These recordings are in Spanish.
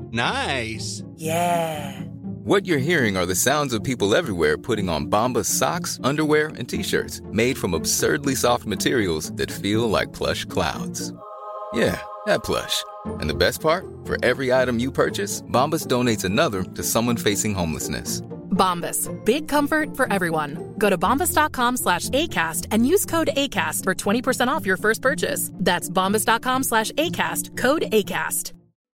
Nice. Yeah. What you're hearing are the sounds of people everywhere putting on Bombas socks, underwear, and T-shirts made from absurdly soft materials that feel like plush clouds. Yeah, that plush. And the best part? For every item you purchase, Bombas donates another to someone facing homelessness. Bombas. Big comfort for everyone. Go to bombas.com/ACAST and use code ACAST for 20% off your first purchase. That's bombas.com/ACAST. Code ACAST.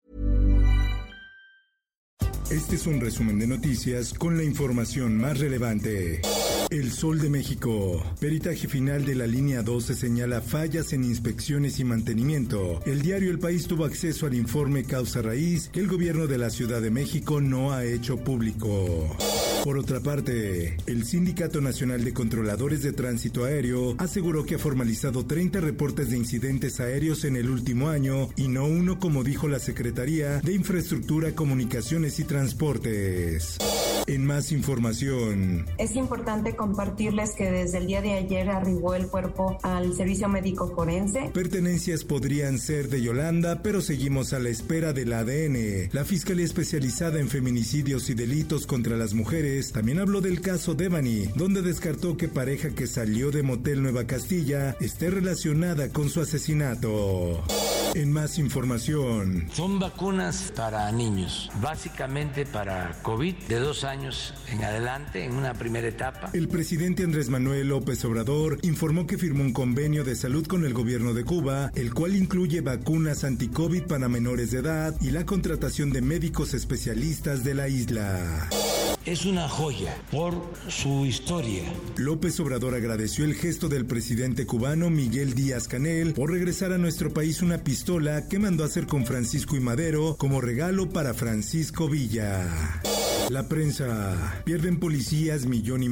Este es un resumen de noticias con la información más relevante. El Sol de México. Peritaje final de la línea 12 señala fallas en inspecciones y mantenimiento. El diario El País tuvo acceso al informe causa raíz que el gobierno de la Ciudad de México no ha hecho público. Por otra parte, el Sindicato Nacional de Controladores de Tránsito Aéreo aseguró que ha formalizado 30 reportes de incidentes aéreos en el último año y no uno como dijo la Secretaría de Infraestructura, Comunicaciones y Transportes. En más información. Es importante compartirles que desde el día de ayer arribó el cuerpo al servicio médico forense. Pertenencias podrían ser de Yolanda, pero seguimos a la espera del ADN. La Fiscalía Especializada en Feminicidios y Delitos contra las Mujeres también habló del caso Devani, donde descartó que pareja que salió de Motel Nueva Castilla esté relacionada con su asesinato. En más información. Son vacunas para niños, básicamente para COVID, de 2 años en adelante, en una primera etapa. El presidente Andrés Manuel López Obrador informó que firmó un convenio de salud con el gobierno de Cuba, el cual incluye vacunas anti-COVID para menores de edad y la contratación de médicos especialistas de la isla. Es una joya por su historia. López Obrador agradeció el gesto del presidente cubano Miguel Díaz-Canel por regresar a nuestro país una pistola que mandó a hacer con Francisco y Madero como regalo para Francisco Villa. La prensa. Pierden policías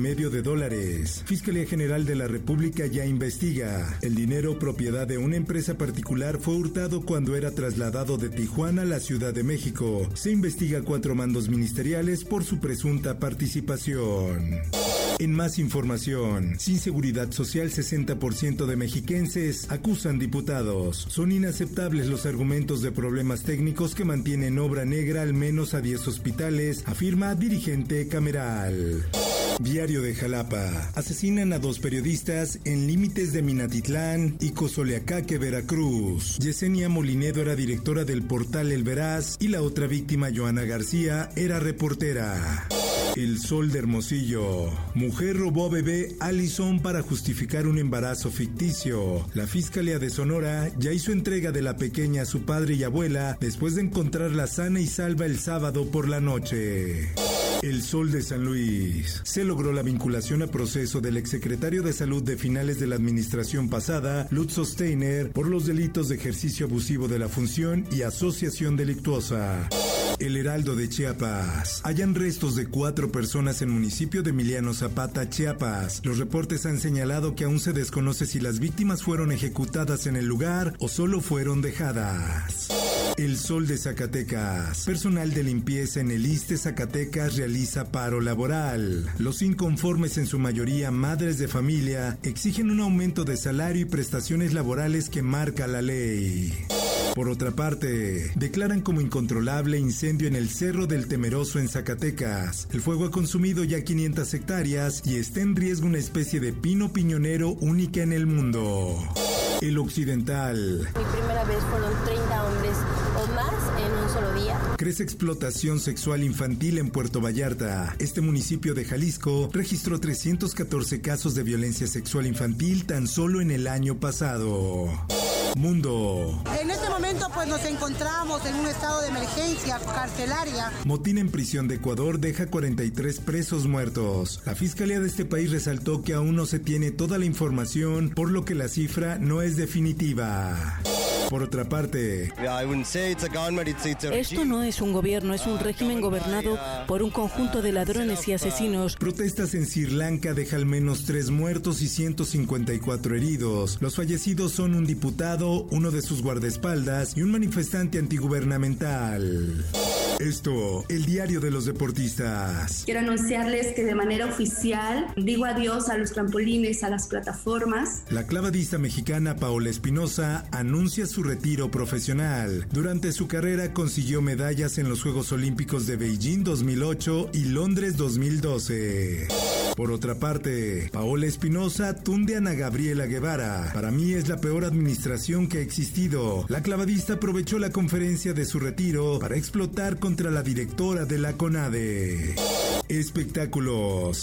$1.500.000. Fiscalía General de la República ya investiga. El dinero propiedad de una empresa particular fue hurtado cuando era trasladado de Tijuana a la Ciudad de México. Se investiga 4 mandos ministeriales por su presunta participación. En más información, sin seguridad social 60% de mexiquenses acusan diputados. Son inaceptables los argumentos de problemas técnicos que mantienen obra negra al menos a 10 hospitales, afirma dirigente cameral. Diario de Jalapa. Asesinan a 2 periodistas en límites de Minatitlán y Cozoleacaque, Veracruz. Yesenia Molinedo era directora del portal El Veraz y la otra víctima, Joana García, era reportera. El Sol de Hermosillo. Mujer robó a bebé Allison para justificar un embarazo ficticio. La Fiscalía de Sonora ya hizo entrega de la pequeña a su padre y abuela después de encontrarla sana y salva el sábado por la noche. El Sol de San Luis. Se logró la vinculación a proceso del exsecretario de Salud de finales de la administración pasada, Lutz Steiner, por los delitos de ejercicio abusivo de la función y asociación delictuosa. El Heraldo de Chiapas. Hallan restos de 4 personas en municipio de Emiliano Zapata, Chiapas. Los reportes han señalado que aún se desconoce si las víctimas fueron ejecutadas en el lugar o solo fueron dejadas. El Sol de Zacatecas. Personal de limpieza en el ISSSTE Zacatecas realiza paro laboral. Los inconformes, en su mayoría madres de familia, exigen un aumento de salario y prestaciones laborales que marca la ley. Por otra parte, declaran como incontrolable incendio en el Cerro del Temeroso en Zacatecas. El fuego ha consumido ya 500 hectáreas y está en riesgo una especie de pino piñonero única en el mundo. El Occidental. Mi primera vez fueron 30 hombres o más en un solo día. Crece explotación sexual infantil en Puerto Vallarta. Este municipio de Jalisco registró 314 casos de violencia sexual infantil tan solo en el año pasado. Mundo. En este momento pues nos encontramos en un estado de emergencia carcelaria. Motín en prisión de Ecuador deja 43 presos muertos. La fiscalía de este país resaltó que aún no se tiene toda la información, por lo que la cifra no es definitiva. Por otra parte, esto no es un gobierno, es un régimen gobernado por un conjunto de ladrones y asesinos. Protestas en Sri Lanka deja al menos 3 muertos y 154 heridos. Los fallecidos son un diputado, uno de sus guardaespaldas y un manifestante antigubernamental. Esto, el diario de los deportistas. Quiero anunciarles que de manera oficial digo adiós a los trampolines, a las plataformas. La clavadista mexicana Paola Espinosa anuncia su retiro profesional. Durante su carrera consiguió medallas en los Juegos Olímpicos de Beijing 2008 y Londres 2012. Por otra parte, Paola Espinosa tunde a Ana Gabriela Guevara. Para mí es la peor administración que ha existido. La clavadista aprovechó la conferencia de su retiro para explotar contra la directora de la CONADE. Espectáculos.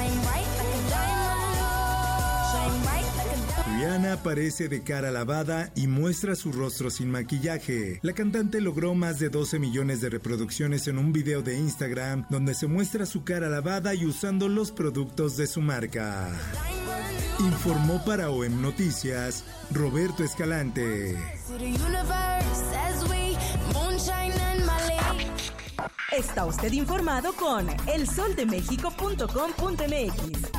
Rihanna aparece de cara lavada y muestra su rostro sin maquillaje. La cantante logró más de 12 millones de reproducciones en un video de Instagram donde se muestra su cara lavada y usando los productos de su marca. Informó para OEM Noticias Roberto Escalante. Está usted informado con elsoldemexico.com.mx.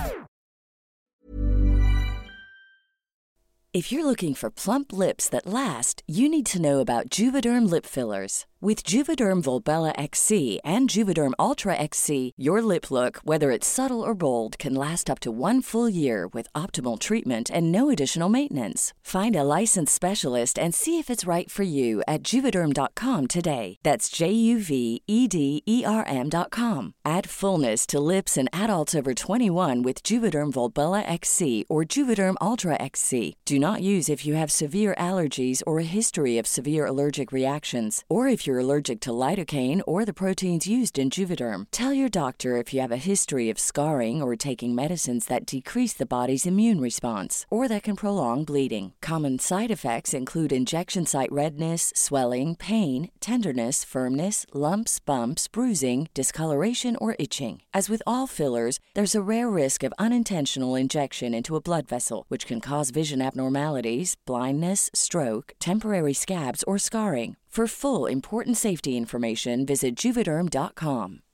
If you're looking for plump lips that last, you need to know about Juvederm lip fillers. With Juvederm Volbella XC and Juvederm Ultra XC, your lip look, whether it's subtle or bold, can last up to 1 full year with optimal treatment and no additional maintenance. Find a licensed specialist and see if it's right for you at Juvederm.com today. That's JUVEDERM.com. Add fullness to lips in adults over 21 with Juvederm Volbella XC or Juvederm Ultra XC. Do not use if you have severe allergies or a history of severe allergic reactions, or if you're allergic to lidocaine or the proteins used in Juvederm. Tell your doctor if you have a history of scarring or taking medicines that decrease the body's immune response or that can prolong bleeding. Common side effects include injection site redness, swelling, pain, tenderness, firmness, lumps, bumps, bruising, discoloration, or itching. As with all fillers, there's a rare risk of unintentional injection into a blood vessel, which can cause vision abnormalities, blindness, stroke, temporary scabs, or scarring. For full, important safety information, visit Juvederm.com.